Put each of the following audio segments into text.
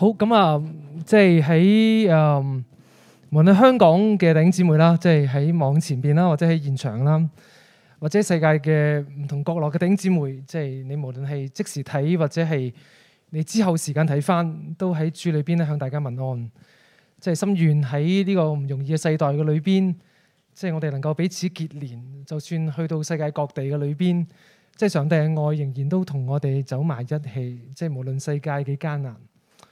好咁啊，即係喺無論香港嘅弟兄姊妹啦，即係喺網前邊啦，或者喺現場啦，或者世界嘅唔同角落嘅弟兄姊妹，即係你無論係即時睇或者係你之後時間睇返，都喺主裏邊咧向大家問安。即係心願喺呢個唔容易嘅世代嘅裏邊，即係我哋能夠彼此結連，就算去到世界各地嘅裏邊，即係上帝嘅愛仍然都同我哋走埋一起。即係無論世界幾艱難。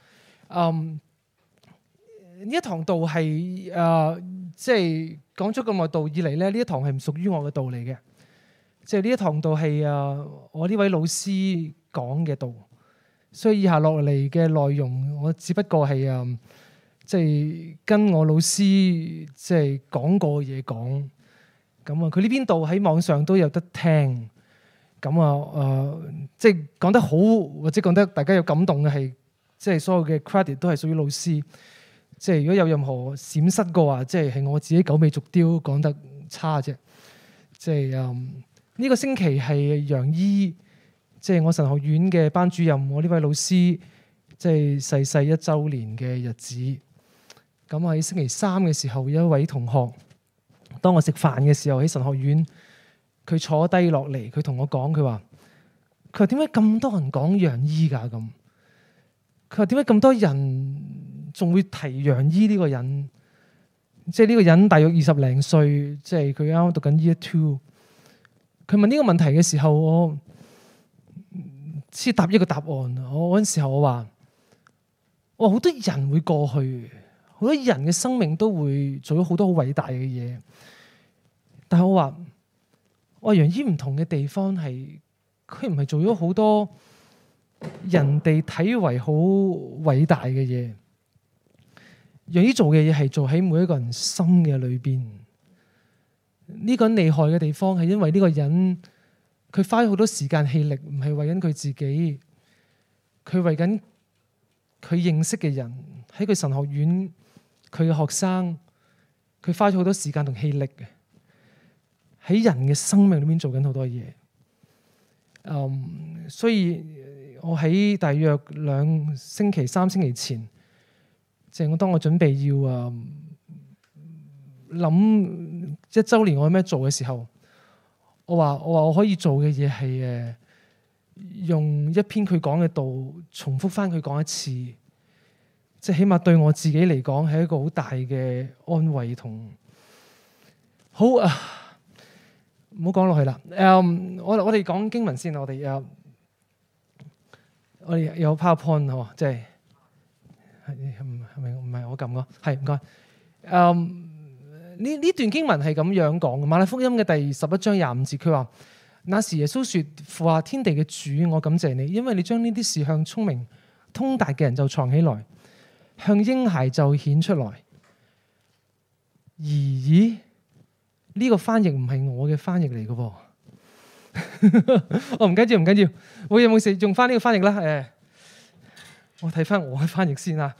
呢一堂道係即係講咗咁耐道以嚟咧，呢一堂係唔屬於我嘅道嚟嘅。即係呢一堂道係我呢位老師講嘅道，所以以下落嚟嘅內容，我只不過係即係跟我老師即係講過嘢講。咁啊，佢呢邊道喺網上都有得聽。咁即係講得好或者講得大家有感動嘅係。即係所有嘅 credit 都係屬於老師。即係如果有任何閃失嘅話，即係我自己狗尾續貂講得差啫。即係呢個星期係楊姨，即係我神學院嘅班主任，我呢位老師即係逝世1週年嘅日子。咁喺星期三嘅時候，有一位同學，當我食飯嘅時候喺神學院，佢坐低落嚟，佢同我講，佢話點解咁多人講楊姨㗎咁？佢話點解咁多人仲會提楊姨呢個人？即係呢個人大約20零歲，即係佢啱啱讀緊 Year 2。佢問呢個問題嘅時候，我先答一個答案。我嗰陣時候我話好多人會過去，好多人嘅生命都會做咗好多好偉大嘅嘢。但係我話楊姨唔同嘅地方係，佢唔係做咗好多人哋睇為好偉大嘅嘢，楊姨做嘅嘢係做喺每一個人心嘅裏邊。呢個人厲害嘅地方係因為呢個人佢花咗好多時間氣力，唔係為緊佢自己，佢為緊佢認識嘅人，喺佢神學院佢嘅學生，佢花咗好多時間同氣力嘅喺人嘅生命裏面做緊好多嘢。所以我喺大約3星期前，即係當我準備要諗1週年我有咩做嘅時候，我話我可以做嘅嘢係用一篇佢講嘅道重複翻佢講一次，即係起碼對我自己嚟講係一個好大嘅安慰同好啊！唔好講落去啦。我哋講經文先，我哋有 PowerPoint 喎，即係係咪唔係我撳個？係唔該。呢段經文係咁樣講嘅，馬太福音嘅第11章25節，佢話：那時耶穌說，父啊，天地嘅主，我感謝你，因為你將呢啲事向聰明通達嘅人就藏起來，向嬰孩就顯出來。咦？呢個翻譯唔係我嘅翻譯嚟嘅喎。唔緊要，我有冇事用翻呢個翻譯啦？我睇翻我嘅翻譯先啦。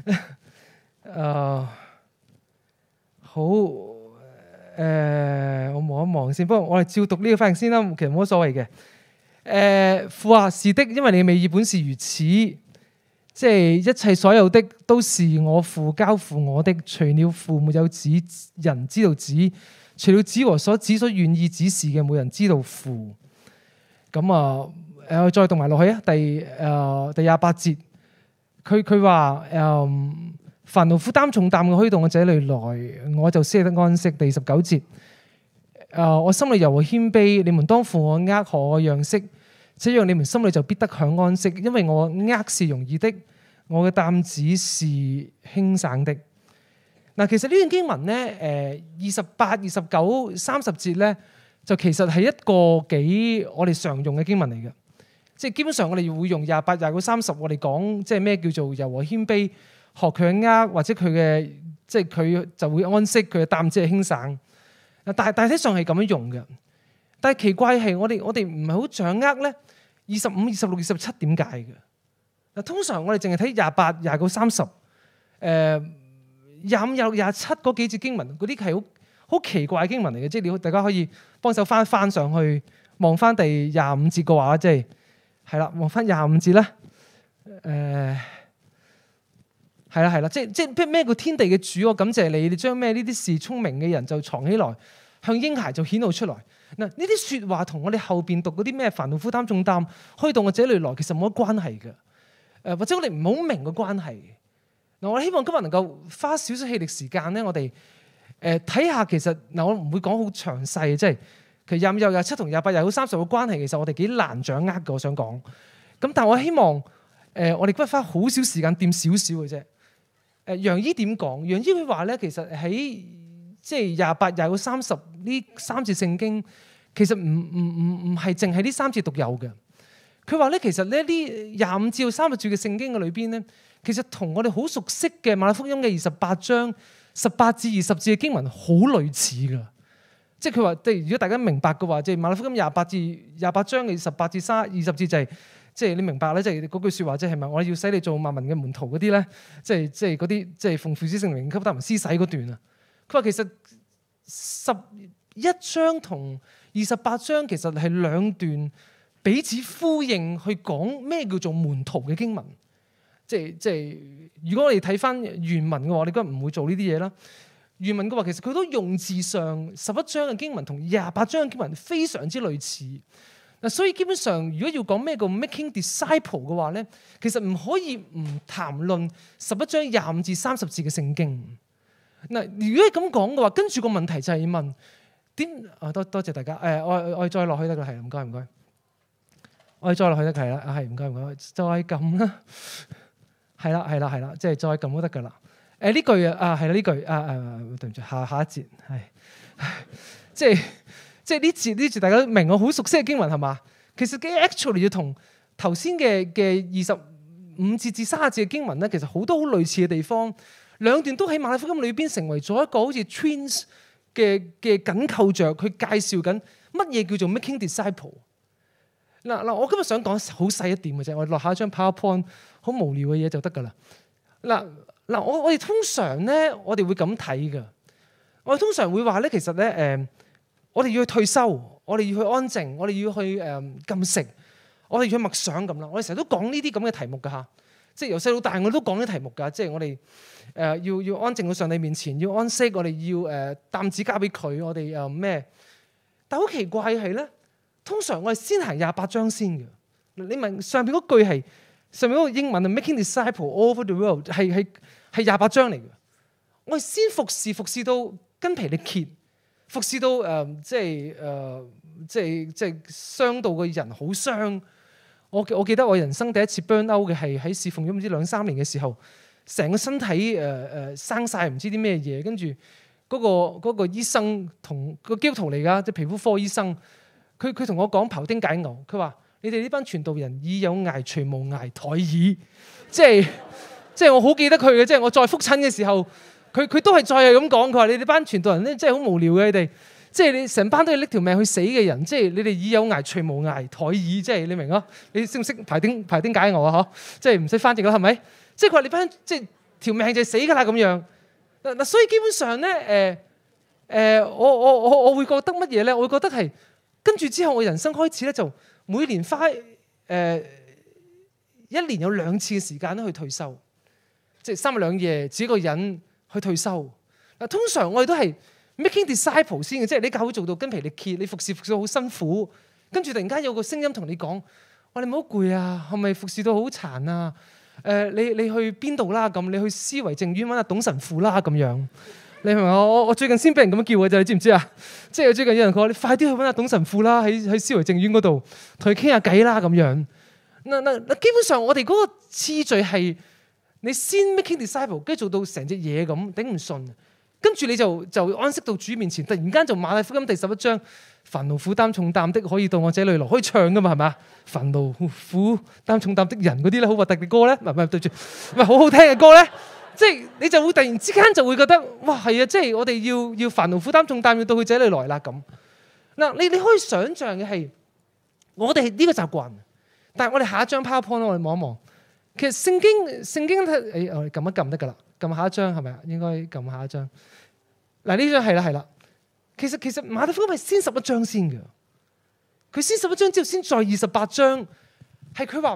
好，我望一望先。不過我哋照讀呢個翻譯先啦，其實冇乜所謂嘅。父啊，是的，因為你美意本是如此，即係一切所有的都是我父交付我的，除了父沒有子，人知道子；除了子和所子所願意指示嘅，冇人知道父。咁再讀埋落去啊，第28節，佢話凡勞苦擔重擔嘅虛動嘅這類來，我就使你得安息。第19節，我心裏柔和謙卑，你們當負我軛，學我樣式，這樣你們心裏就必得享安息，因為我軛是容易的，我嘅擔子是輕省的。嗱，其實呢段經文咧，28、29、30節咧，就其實係一個幾我哋常用嘅經文嚟嘅。即係基本上我哋會用28、29、30，我哋講即係咩叫做柔和謙卑。學佢嘅軛，或者佢嘅即係佢就會安息，佢嘅擔子係輕省。但係大體上係咁樣用嘅。但係奇怪係我哋唔係好掌握咧25、26、27點解嘅。嗱，通常我哋淨係睇28、29、30，25、26、27嗰幾節經文，嗰啲係好奇怪嘅經文嚟嘅。即係大家可以幫手翻上去望翻第25節嘅話，即係啦，望翻25節啦。 係啦，即咩叫天地嘅主？我感謝你，你將咩呢啲事聰明嘅人就藏起來，向嬰孩就顯露出來。嗱，呢啲説話同我哋後邊讀嗰啲咩煩惱負擔重擔，可以到我這裏來，其實冇乜關係嘅。或者我哋唔好明嘅關係。嗱，我希望今日能夠花少少氣力時間咧，我哋睇下其實嗱，我唔會講好詳細，即係其實25、27同28、29、30嘅關係，其實我哋幾難掌握嘅。我想講，咁但係我希望我哋今日花好少時間掂少少嘅啫。楊醫點講？楊醫佢話咧，其實喺即係28、29、30呢3節聖經，其實唔係淨係呢3節獨有嘅。佢話咧，其實咧呢25至30節嘅聖經嘅裏邊咧，其實同我哋好熟悉嘅馬太福音嘅28章18至20節嘅經文好類似噶。即係佢話，如果大家明白嘅話，即係馬太福音28章嘅18至20節就係。即係你明白咧，即係嗰句説話，即係咪我要使你做萬民嘅門徒嗰啲咧？即係嗰啲即係奉父子聖靈給他們施洗嗰段啊。佢話其實11章同28章其實係兩段彼此呼應，去講咩叫做門徒嘅經文。即係如果我哋睇翻原文嘅話，我哋梗係唔會做呢啲嘢啦。原文嘅話，其實佢都用字上11章嘅經文同28章嘅經文非常之類似。所以基本上，如果要講咩叫 making disciple 嘅話咧，其實唔可以唔談論11章25至30節嘅聖經。嗱，如果係咁講嘅話，跟住個問題就係問點？多謝大家。我哋再落去得㗎，係唔該唔該。我哋再落去得係啦，係唔該唔該，再撳啦。係啦，即係再撳都得㗎啦。呢句啊係啦，呢句對唔住，下一節係即係呢節大家都明，我好熟悉嘅經文係嘛？其實 actually 要同頭先嘅25節至30節嘅經文咧，其實好多好類似嘅地方。兩段都喺馬太福音裏邊成為咗一個好似 twins 嘅緊扣着，佢介紹緊乜嘢叫做 making disciple。嗱，我今日想講好細一點嘅啫，我落下一張 PowerPoint 好無聊嘅嘢就得㗎啦。嗱，我哋通常咧，我哋會咁睇㗎。我哋通常會話咧，其實咧我哋要去退休，我哋要去安靜，我哋要去禁食，我哋要去默想咁啦。我哋成日都講呢啲咁嘅題目㗎嚇，即係由細到大我都講呢啲題目㗎。即係我哋要安靜到上帝面前，要安息，我哋要擔子交俾佢，我哋咩？但好奇怪係咧，通常我哋先行28章先嘅。你問上邊嗰句係上面嗰個英文啊 ，making disciple all over the world 係28章嚟嘅。我哋先服侍到筋疲力竭。服侍到即係傷到個人好傷。我記得我人生第一次 burn out 嘅係喺侍奉咗唔知2-3年嘅時候，成個身體生晒唔知啲咩嘢，跟住嗰個醫生同個基督徒嚟㗎，即係皮膚科醫生，佢同我講庖丁解牛，佢話你哋呢班傳道人以有涯隨無涯殆矣。即係我好記得佢嘅，即係我再覆診嘅時候。佢都係再係咁講，佢話你哋班傳道人咧，真係好無聊嘅，你哋即係你成班都要拎條命去死嘅人，即係你哋以有涯隨無涯殆矣，即係你明啊？你識唔識庖丁解牛啊？嗬，即係唔使翻譯啦，係咪？即係佢話你班即係條命就係死㗎啦咁樣。嗱，所以基本上咧，我會覺得乜嘢咧？我會覺得係跟住之後，我人生開始咧就每年花1年有2次嘅時間咧去退休，即係3日2夜自己一個人。去退休嗱，通常我哋都係 making disciple 先嘅，即係你教會做到筋疲力竭，你服侍到好辛苦，跟住突然間有個聲音同你講：哇，你唔好攰啊，係咪服侍到好殘啊？你去邊度啦？咁你去思維靜院揾阿董神父啦咁樣。你明唔明？我最近先俾人咁樣叫嘅啫，你知唔知啊？即係最近有人講：你快啲去揾阿董神父啦，喺思維靜院嗰度同佢傾下偈啦咁樣。嗱，基本上我哋嗰個次序係。你先 making disciple， 跟住做到成隻嘢咁頂唔順，跟住你就安息到主面前，突然間就馬太福音第11章，煩惱負擔重擔的可以到我這裏來，可以唱噶嘛，係咪？煩惱負擔重擔的人嗰啲咧，好核突嘅歌咧，唔係對住，唔係好好聽嘅歌咧，即係你就會突然之間就會覺得，哇係啊，即係我哋要煩惱負擔重擔要到佢這裏來啦咁。嗱，你可以想像嘅係，我哋呢個習慣，但係我哋下一張 PowerPoint 我哋望一望。其實聖經我哋撳一撳得㗎啦，撳下一張係咪啊？應該撳下一張。嗱，呢張係啦。其實馬太福音係先11章先嘅，佢先11章之後先再28章，係佢話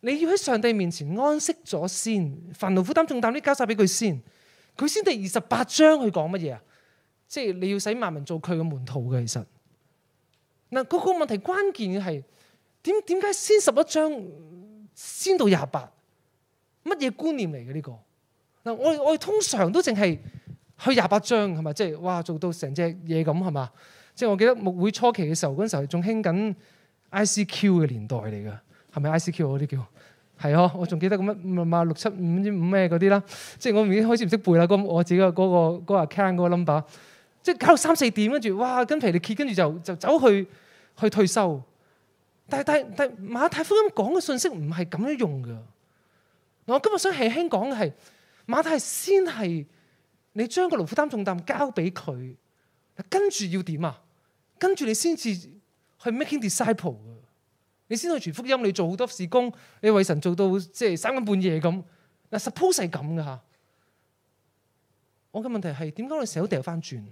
你要喺上帝面前安息咗先，煩惱負擔重擔啲交晒俾佢先。佢先第28章去講乜嘢啊？即係你要使萬民做佢嘅門徒嘅。其實嗱，嗰個問題關鍵嘅係點解先11章先到28？乜嘢觀念嚟嘅呢個？嗱，我哋通常都淨係去28章係咪？即係哇做到成隻嘢咁係嘛？即係我記得牧會初期嘅時候，嗰陣時候仲興緊 ICQ 嘅年代嚟㗎，係咪 ICQ 嗰啲叫？係啊，我仲記得咁乜675唔知5咩嗰啲啦，即係我已經開始唔識背啦。我自己嗰個 account 嗰個 number， 即係搞到3、4點，跟住哇筋疲力竭，跟住就走去退修。但馬太福音講嘅信息唔係咁樣用㗎。我今日想輕輕講嘅係馬太先係你將個勞苦擔重擔交俾佢，跟住要點啊？跟住你先至去 making disciple。你先去傳福音，你做好多事工，你為神做到即係3更半夜咁。嗱 suppose 係咁噶嚇。我嘅問題係點解我哋成日都掉翻轉？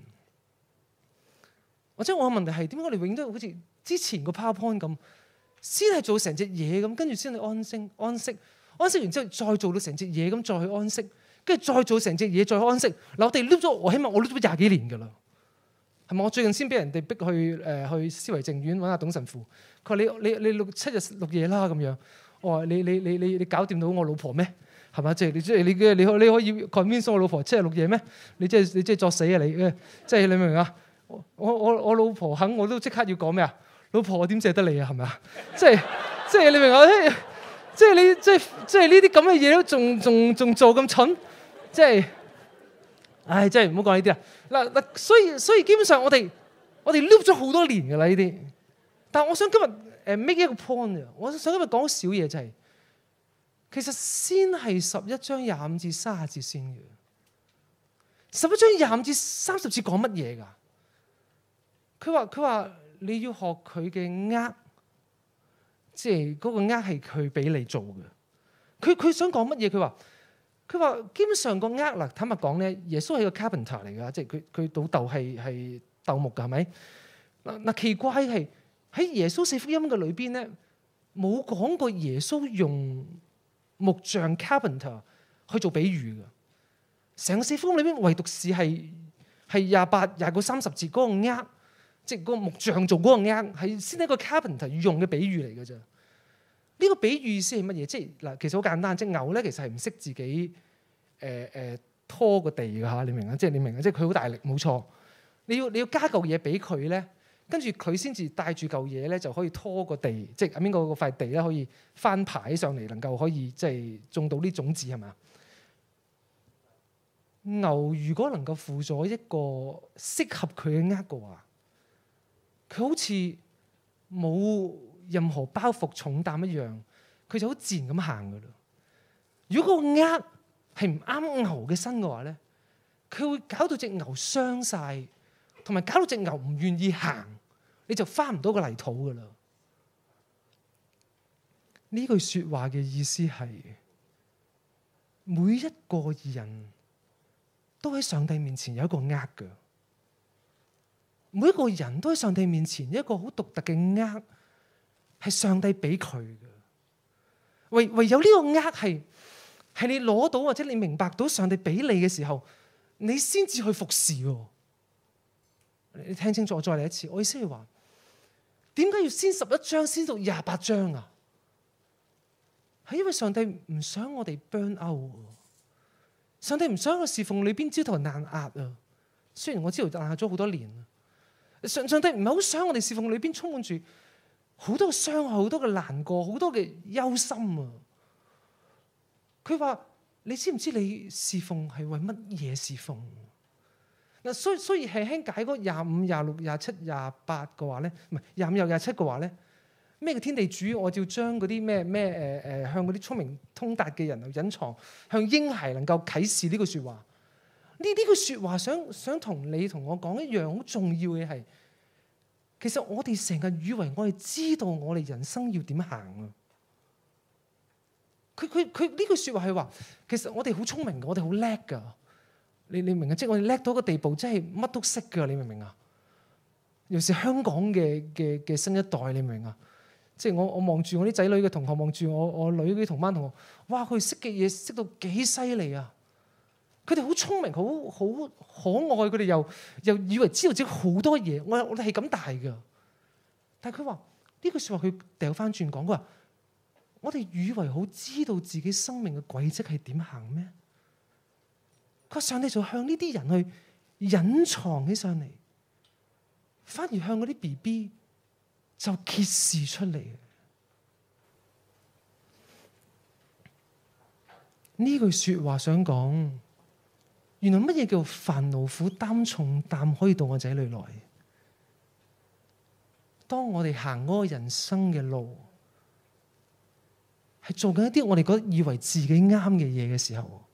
或者我嘅問題係點解我哋永遠都好似之前個 PowerPoint 咁，先係做成隻嘢咁，跟住先去安息完之後再做到成隻嘢咁，再去安息，跟住再做成隻嘢再去安息。嗱，我哋 loop 咗，我起碼我 loop 咗20幾年噶啦。係咪？我最近先俾人哋逼去思維靜院揾阿董神父。佢話你7日6夜啦咁樣。我話你搞掂到我老婆咩？係咪？即係你可以 convince 我老婆7日6夜咩？你即係作死啊你！即係你明唔明啊？我老婆肯我都即刻要講咩啊？老婆我點捨得你啊？係咪啊？即係你明啊？即係呢啲咁嘅嘢都仲做咁蠢，即係。唉，真係唔好講呢啲啦。嗱，所以基本上我哋 loop 咗好多年㗎啦呢啲。但係我想今日make 一個 point 啊，我想今日講少嘢就係，其實先係11章25至30節先嘅。11章25至30節講乜嘢㗎？佢話你要學佢嘅軛，即係嗰個軛係佢俾你做嘅。佢想講乜嘢？佢話基本上個軛嗱，坦白講咧，耶穌係個 carpenter 嚟㗎，即係佢倒豆係鬥木㗎，係咪？嗱，奇怪係喺耶穌4福音嘅裏邊咧，冇講過耶穌用木匠 carpenter 去做比喻㗎。成個4福音裏邊，唯獨是係28、29、30節嗰個軛，即係嗰個木匠做嗰個軛，係先係一個 carpenter 用嘅比喻嚟㗎啫。呢個比喻意思係乜嘢？即係嗱，其實好簡單，即係牛咧，其實係唔識自己拖個地㗎嚇，你明啊？即係你明啊？即係佢好大力，冇錯。你要加嚿嘢俾佢咧，跟住佢先至帶住嚿嘢咧，就可以拖個地，即係邊個塊地咧可以翻排上嚟，能夠可以即係種到啲種子係咪啊？牛如果能夠負咗一個適合佢嘅軛嘅話，佢好似冇任何包袱重擔一樣，佢就好自然咁行噶啦。如果個軛係唔啱牛嘅身嘅話咧，佢會搞到隻牛傷晒，同埋搞到隻牛唔願意行，你就翻唔到個泥土噶啦。呢句說話嘅意思係，每一個人都喺上帝面前有一個軛噶，每一個人都喺上帝面前有一個好獨特嘅軛。係上帝俾佢嘅，唯有呢個軛係你攞到或者你明白到上帝俾你嘅時候，你先至去服侍。你聽清楚，我再嚟一次，我意思係話，點解要先11章先到28章啊？係因為上帝唔想我哋 burn out， 上帝唔想我侍奉裏邊焦頭爛額啊。雖然我知道爛咗好多年，上帝唔係好想我哋侍奉裏邊充滿住好多嘅傷害，好多嘅難過，好多嘅憂心啊！佢話：你知唔知你侍奉係為乜嘢侍奉？嗱，所以輕輕解嗰25、26、27、28嘅話咧，唔係25又27嘅話咧，咩嘅天地主？我就要將嗰啲咩向嗰啲聰明通達嘅人隱藏，向嬰孩能夠啟示呢句説話。呢句説話想同你同我講一樣好重要嘅係。其實我哋成日以為我哋知道我哋人生要點行啊！佢呢句説話係話，其實我哋好聰明嘅，我哋好叻㗎。你明啊？即係我哋叻到一個地步，真係乜都識㗎。你明唔明啊？尤其是香港嘅新一代，你明唔明啊？ 即係我望住我啲仔女嘅同學，望住我女嗰啲同班同學，哇！佢哋識嘅嘢識到幾犀利啊！佢哋好聰明，好可愛，佢哋又以為知道自己好多嘢。我哋係咁大㗎，但係佢話呢句説話，佢掉翻轉講，佢話我哋以為好知道自己生命嘅軌跡係點行咩？佢話上帝就向呢啲人去隱藏起上嚟，反而向嗰啲 BB 就揭示出嚟。呢句説話想講，原來乜嘢叫煩勞苦擔重擔可以到我仔女來？當我哋行嗰個人生嘅路，係做緊一啲我哋覺得以為自己啱嘅嘢嘅時候，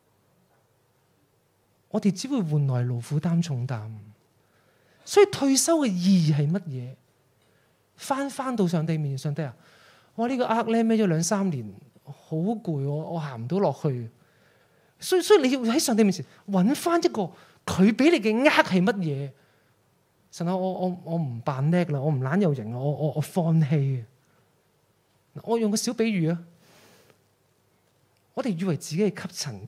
我哋只會換來勞苦擔重擔。所以退休嘅意義係乜嘢？翻到上帝面前，上帝啊，我呢個軛咧孭咗2-3年，好攰，我行唔到落去。所以你要喺上帝面前揾翻一個佢俾你嘅軛係乜嘢？神啊，我唔扮叻啦，我唔懶有型，我放棄。我用個小比喻啊，我哋以為自己係吸塵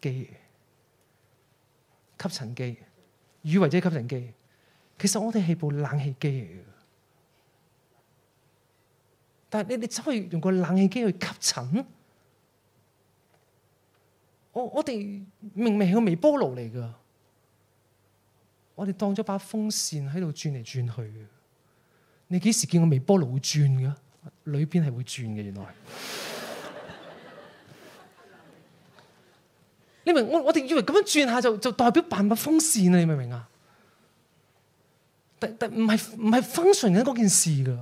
機，以為自己係吸塵機，其實我哋係部冷氣機嚟嘅。但係你走去用個冷氣機去吸塵，我哋明明係個微波爐嚟㗎。我哋當咗把風扇喺度轉嚟轉去。你幾時見過微波爐會轉嘅？裏邊係會轉嘅，原來。你明？我哋以為咁樣轉下就代表扮把風扇啊！你明唔明啊？但唔係 function 緊嗰件事㗎。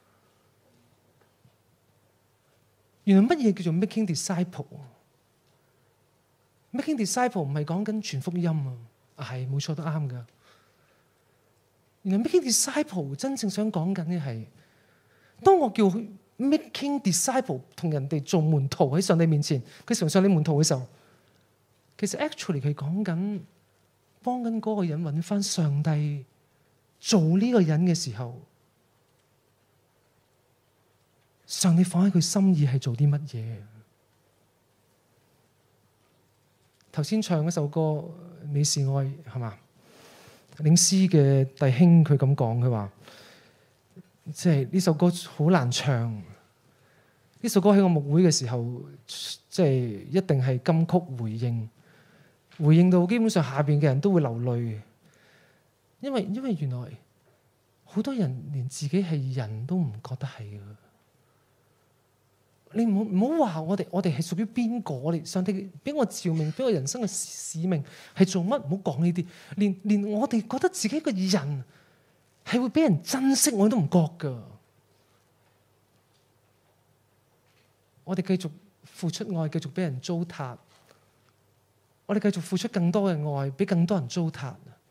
原來乜嘢叫做 making disciple？making disciple 唔係講緊傳福音啊，係冇錯都啱㗎。原來 making disciple 真正想講緊嘅係，當我叫 making disciple 同人哋做門徒喺上帝面前，佢成為上帝門徒嘅時候，其實 actually 佢講緊幫緊嗰個人揾翻上帝做呢個人嘅時候，上帝放喺佢心意係做啲乜嘢？頭先唱嗰首歌《你是愛》係嘛？領詩嘅弟兄佢咁講，佢話即係呢首歌好難唱。呢首歌喺我牧會嘅時候，即係一定係金曲回應到基本上下邊嘅人都會流淚。因為原來好多人連自己係人都唔覺得係嘅。你唔好話我哋係屬於邊個？我哋上帝俾我召命，俾我人生嘅使命係做乜？唔好講呢啲。連我哋覺得自己個人係會俾人珍惜，我都唔覺㗎。我哋繼續付出愛，繼續俾人糟蹋。我哋繼續付出更多嘅愛，俾更多人糟蹋。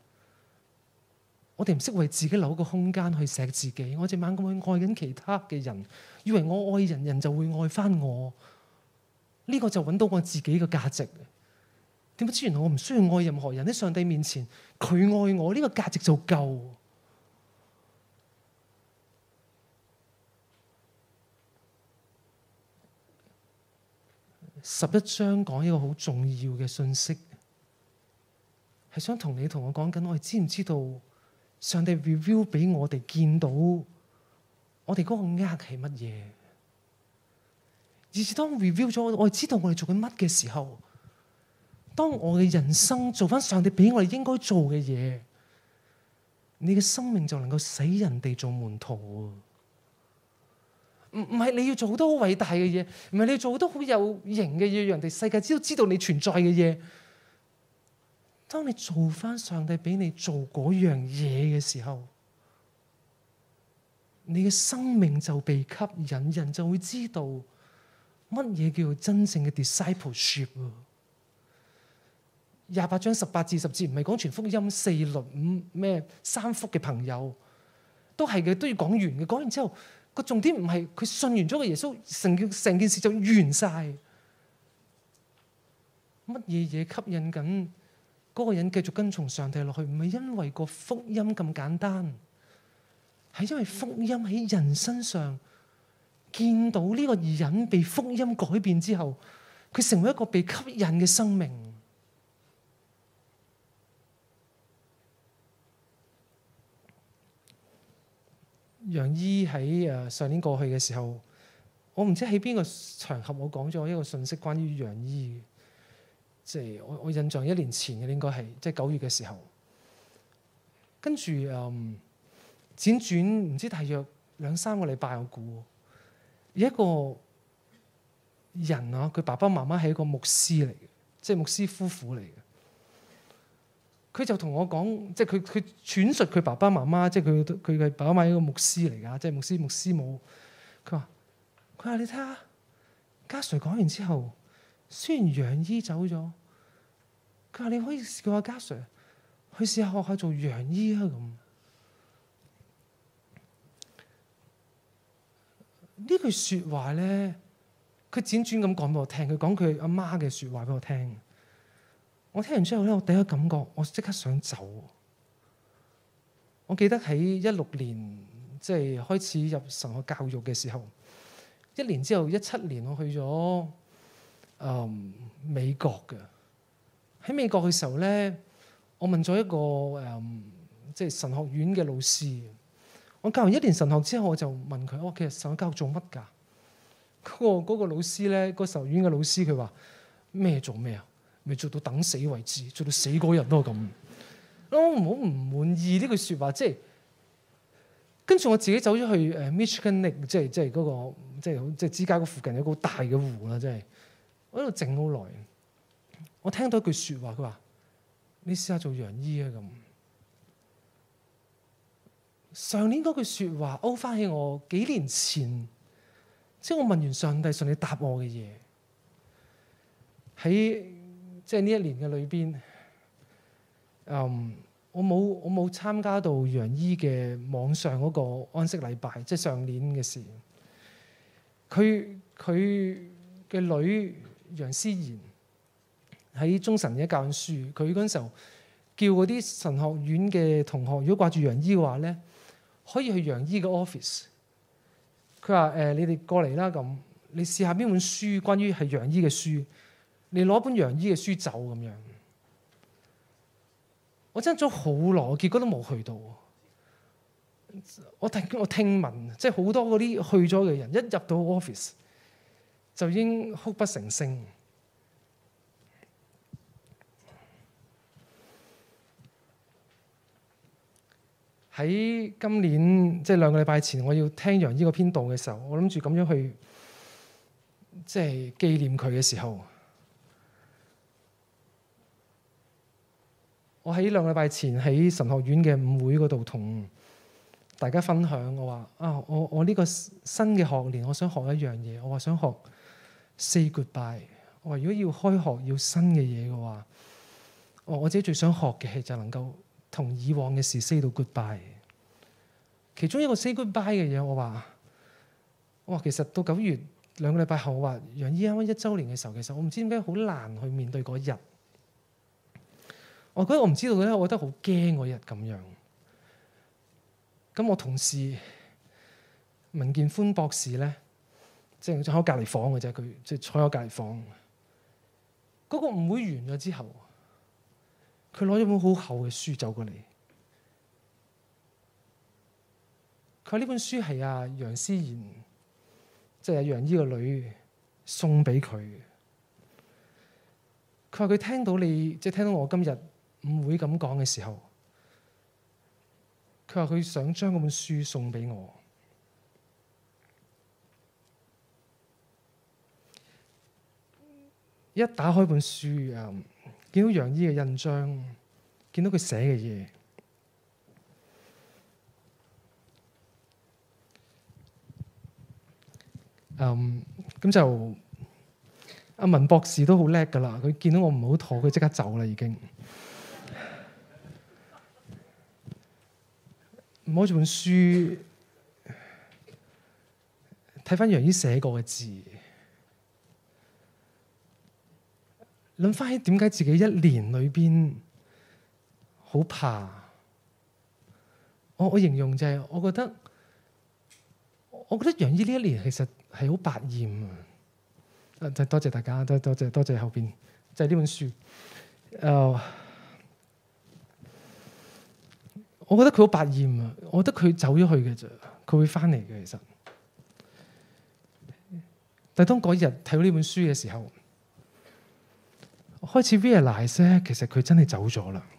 我哋唔識為自己留一個空間去錫自己，我隻猛咁去愛緊其他嘅人，以為我愛人，人就會愛翻我。呢個就揾到我自己嘅價值。點知原來我唔需要愛任何人，喺上帝面前，佢愛我，呢個價值就夠。11章講一個好重要嘅信息，係想同你同我講緊，我哋知唔知道？上帝 reveal 俾我哋見到，我哋嗰個軛係乜嘢？而是當 reveal 咗，我哋知道我哋做緊乜嘅時候，當我嘅人生做翻上帝俾我哋應該做嘅嘢，你嘅生命就能夠使人哋做門徒。唔係你要做好多好偉大嘅嘢，唔係你要做好多好有型嘅嘢，讓人哋世界都知道你存在嘅嘢。當你做翻上帝俾你做嗰樣嘢嘅時候，你嘅生命就被吸引，人就會知道乜嘢叫做真正嘅 discipleship。28章18至10節唔係講全福音4律5咩3福嘅朋友，都係嘅，都要講完嘅。講完之後，個重點唔係佢信完咗個耶穌，成件事就完晒。乜嘢嘢吸引緊嗰個人繼續跟從上帝落去？唔係因為個福音咁簡單，係因為福音喺人身上見到呢個人被福音改變之後，佢成為一個被吸引嘅生命。楊姨喺上年過去嘅時候，我唔知喺邊個場合我講咗一個信息關於楊姨，即係我印象1年前嘅應該係即係9月嘅時候，跟住輾轉唔知大約2-3個禮拜，我估有一個人啊，佢爸爸媽媽係一個牧師嚟嘅，即係牧師夫婦嚟嘅。佢就同我講，即係佢轉述佢爸爸媽媽，即係佢嘅爸爸媽媽係一個牧師嚟㗎，即係牧師母。佢話你睇下，家 Sir 講完之後，雖然楊姨走咗，佢話你可以叫阿家 Sir 去試下學下做楊姨啊咁。呢句説話咧，佢輾轉咁講俾我聽，佢講佢阿媽嘅説話俾我聽。我聽完之後咧，我第一個感覺，我即刻想走。我記得喺16年，即係開始入神學教育嘅時候，1年之後17年，我去咗美國嘅。喺美國嘅時候咧，我問咗一個即係神學院嘅老師。我教完1年神學之後，我就問佢：其實神學教育做乜㗎？嗰個老師咧，個神學院嘅老師，佢話咩做咩啊？咪做到等死為止，做到死嗰日都係咁。我唔滿意呢句説話，即係跟住我自己走咗去Michigan Lake，即係嗰個即係芝加哥附近有個好大嘅湖啦，即係我喺度靜好耐。我聽到一句説話，佢話：你試下做楊姨啊咁。上年嗰句説話勾翻起我幾年前，即係我問完上帝，上帝答我嘅嘢喺。即係呢1年嘅裏邊，我冇參加到楊姨嘅網上嗰個安息禮拜，即係上年嘅事。佢嘅女楊思妍喺中神嘅教書，佢嗰陣時候叫嗰啲神學院嘅同學，如果掛住楊姨嘅話咧，可以去楊姨嘅 office。佢話你哋過嚟啦，咁你試下邊本書關於係楊姨嘅書。你攞本楊姨嘅書走咁樣，我爭咗好耐，結果都冇去到。我聽聞，即係好多嗰啲去咗嘅人，一入到 office 就已經哭不成聲。喺今年即係2個禮拜前，我要聽楊姨嗰篇道嘅時候，我諗住咁樣去即係紀念佢嘅時候。我喺2個禮拜前喺神學院嘅午會嗰度同大家分享，我話我呢個新嘅學年，我想學一樣嘢。我話想學 say goodbye。我話如果要開學要新嘅嘢嘅話，我自己最想學嘅係就能夠同以往嘅事 say 到 goodbye。其中一個 say goodbye 嘅嘢，我話其實到9月2個禮拜後，我話楊姨啱啱1週年嘅時候，其實我唔知點解好難去面對嗰日。我覺得我唔知道咧，我覺得好驚嗰日咁樣。咁我同事文建寬博士咧，即係坐喺隔離房嘅啫，佢即係坐喺隔離房。嗰個舞會完咗之後，佢攞咗本好厚嘅書走過嚟。佢話呢本書係阿楊思妍，即係阿楊姨個女送俾佢嘅。佢話佢聽到你，即係聽到我今日唔會咁講嘅時候，佢話佢想將嗰本書送俾我。一打開本書，見到楊姨嘅印章，見到佢寫嘅嘢，咁就阿文博士都好叻㗎喇。佢見到我唔好妥，佢即刻走啦已經。摸住本書，睇返楊姨寫過嘅字，諗返起點解自己1年裏邊好怕。我形容就係我覺得我覺得楊姨呢一年其實係好百厭啊！多謝大家，多謝後邊就係呢本書。我覺得佢好百厭啊！我覺得佢走咗去嘅啫，佢會翻嚟嘅其實。但係當嗰日睇到呢本書嘅時候，我開始 realize 咧，其實佢真係走咗啦。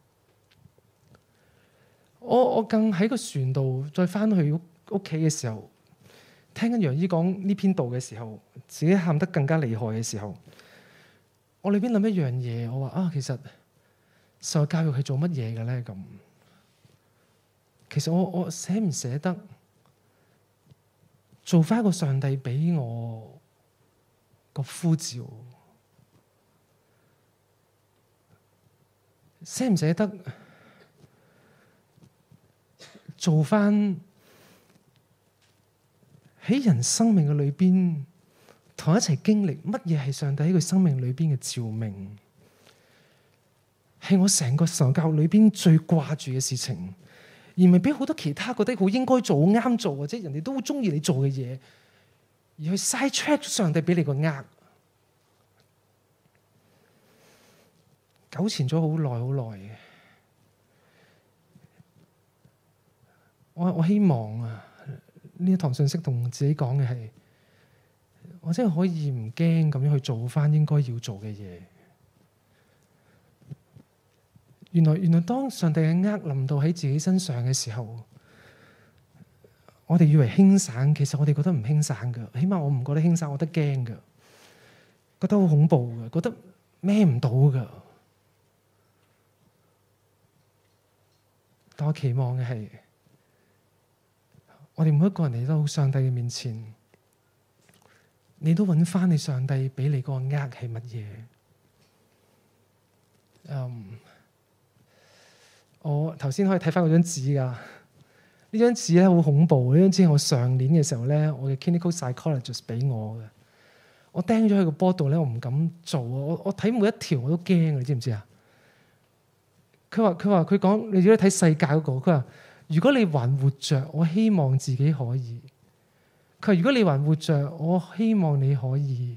我更喺個船度再翻去屋企嘅時候，聽緊楊姨講呢篇道嘅時候，自己喊得更加厲害嘅時候，我裏邊諗一樣嘢，我話啊，其實受教育係做乜嘢嘅咧？咁其實我捨唔捨得做翻一個上帝俾我個呼召？捨唔捨得做翻喺人生命嘅裏邊，同一齊經歷乜嘢係上帝喺佢生命裏邊嘅召命，係我成個神教裏邊最掛住嘅事情，而唔係俾好多其他覺得好應該做、好啱做，或者人哋都好中意你做嘅嘢，而去 side track 上帝俾你個軛，糾纏咗好耐好耐嘅。我希望啊，呢一堂信息同自己講嘅係，我真係可以唔驚咁樣去做翻應該要做嘅嘢。原來當上帝嘅軛臨到喺自己身上嘅時候，我哋以為輕省，其實我哋覺得唔輕省㗎。起碼我唔覺得輕省，我覺得驚㗎，覺得好恐怖㗎，覺得孭唔到㗎。但我期望嘅係，我哋每一個人嚟到上帝嘅面前，你都揾翻你上帝俾你個軛係乜嘢？我頭先可以睇翻嗰張紙㗎。呢張紙咧好恐怖。呢張紙係我上年嘅時候咧，我嘅 clinical psychologist 俾我嘅。我釘咗喺個波度咧，我唔敢做。我睇每一條我都驚，你知唔知啊？佢講，你如果睇世界嗰個，佢話如果你還活着，我希望自己可以。佢話如果你還活着，我希望你可以，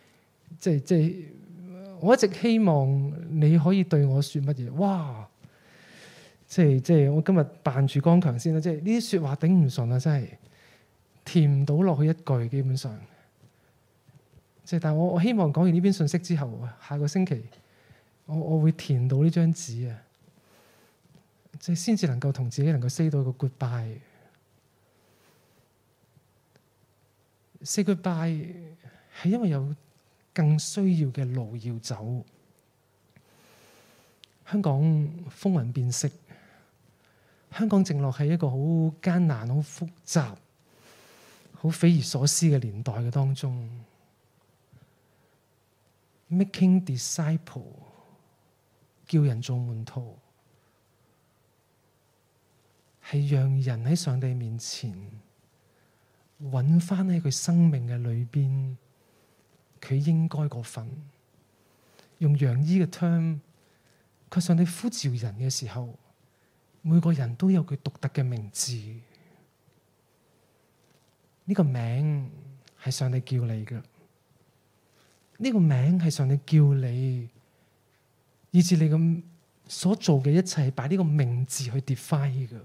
我一直希望你可以對我說乜嘢？哇！即係我今日扮住剛強先啦，即係呢啲說話頂唔順啊，真係填唔到落去一句，基本上。但係我希望講完呢篇信息之後，下個星期我會填到呢張紙啊，即係先至能夠同自己能夠 say 到一個 goodbye。say goodbye 係因為有更需要嘅路要走。香港風雲變色，香港正落喺一個好艱難、好複雜、好匪夷所思嘅年代嘅當中。Making disciple， 叫人做門徒，係讓人喺上帝面前揾翻喺佢生命嘅裏邊，佢應該嗰份。用楊姨嘅 term， 佢上帝呼召人嘅時候，每個人都有佢獨特嘅名字。呢個名係上帝叫你嘅。呢個名係上帝叫你，以至你咁所做嘅一切，擺呢個名字去 define 嘅。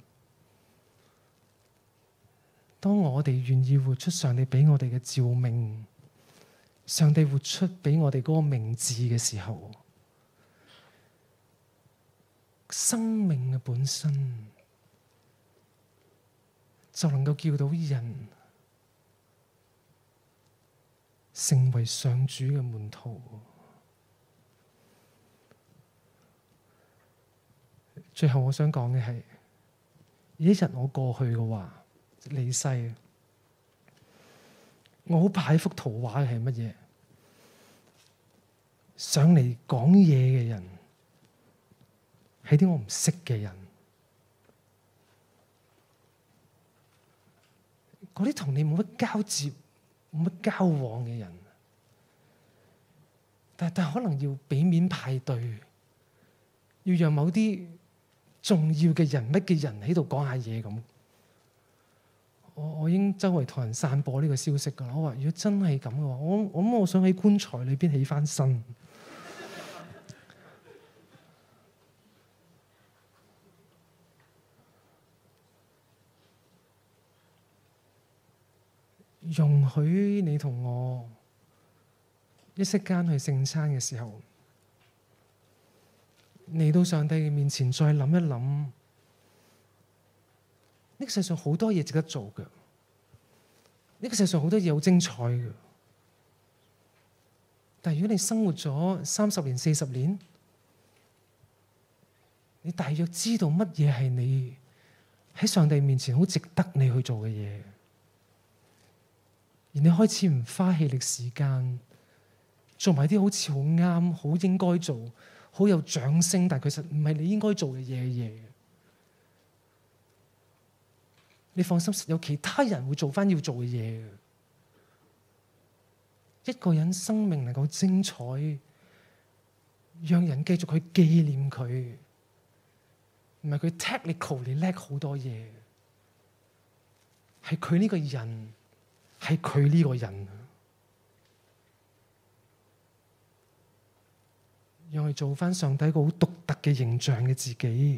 當我哋願意活出上帝俾我哋嘅召命，上帝活出俾我哋嗰個名字嘅時候，生命嘅本身就能夠叫到人成為上主嘅門徒。最後我想講嘅係，一日我過去嘅話，離世，我好怕一幅圖畫係乜嘢？上嚟講嘢嘅人係啲我唔識嘅人，嗰啲同你冇乜交接、冇乜交往嘅人，但可能要俾面派對，要讓某啲重要嘅人物嘅人喺度講下嘢咁。 我已經周圍同人散播呢個消息㗎啦。我話如果真係咁嘅話，我想喺棺材裏邊起翻身。容許你同我一息間去聖餐嘅時候，嚟到上帝嘅面前，再諗一諗，呢個世上好多嘢值得做嘅，呢個世上好多嘢好精彩嘅。但係如果你生活咗30年、40年，你大約知道乜嘢係你喺上帝面前好值得你去做嘅嘢，而你開始唔花氣力時間做埋啲好似好啱、好應該做、好有掌聲，但其實唔係你應該做嘅嘢。你放心，有其他人會做翻要做嘅嘢。一個人生命能夠精彩，讓人繼續去紀念佢，唔係佢 technically 叻好多嘢，係佢呢個人，係佢呢個人，讓佢做翻上帝一個好獨特嘅形象嘅自己，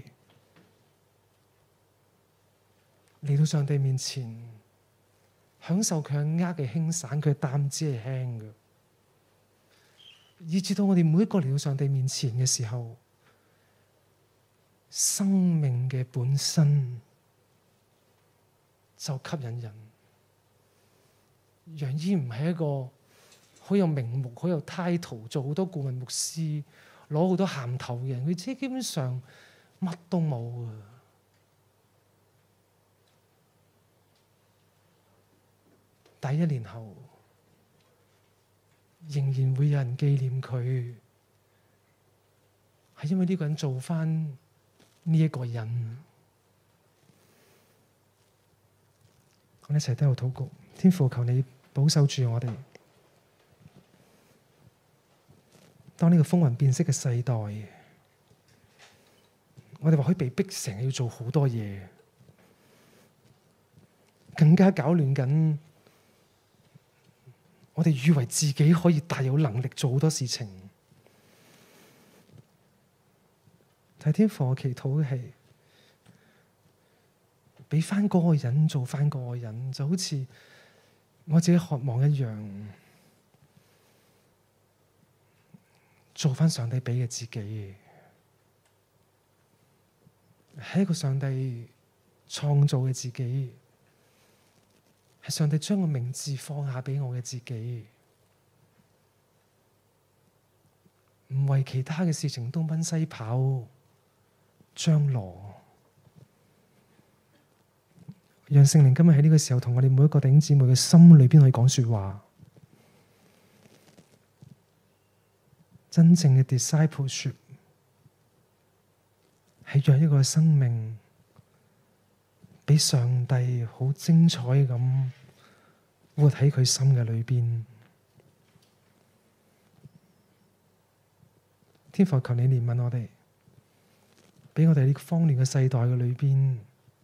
嚟到上帝面前，享受佢嘅軛嘅輕省，佢嘅擔子係輕嘅，以至到我哋每一個嚟到上帝面前嘅時候，生命嘅本身就吸引人。楊醫唔係一個好有名目、好有 title、做好多顧問牧師、攞好多銜頭嘅人，佢自己基本上乜都冇啊！但1年後，仍然會有人紀念佢，係因為呢個人做返呢一個人。我哋一齊低頭禱告，天父，求你保守住我哋。當呢個風雲變色嘅世代，我哋或許被逼成日要做好多嘢，更加搞亂緊。我哋以為自己可以大有能力做好多事情，但天父，我祈禱嘅係俾翻嗰個人做翻嗰個人，就好似我自己渴望一樣，做翻上帝俾嘅自己，係一個上帝創造嘅自己。係上帝將個名字放下俾我嘅自己，唔為其他嘅事情東奔西跑張羅，讓聖靈今日喺呢個時候同我哋每一個弟兄姊妹嘅心裏邊去講說話。真正嘅 discipleship 係讓一個生命俾上帝好精彩咁活喺佢心嘅裏邊。天父，求你憐憫我哋，俾我哋呢個慌亂嘅世代嘅裏邊，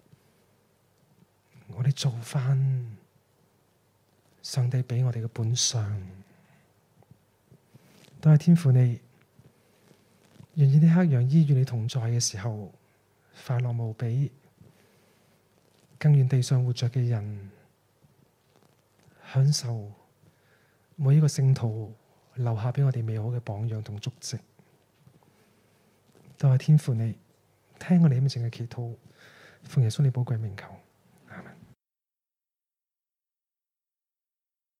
我哋做返上帝俾我哋嘅本相。都係天父你，願意呢刻楊醫與你同在嘅時候，快樂無比。更願地上活着嘅人享受每一個聖徒留下俾我哋美好嘅榜樣同足跡。都係天父你，聽我哋咁靜嘅祈禱，奉耶穌你寶貴名求。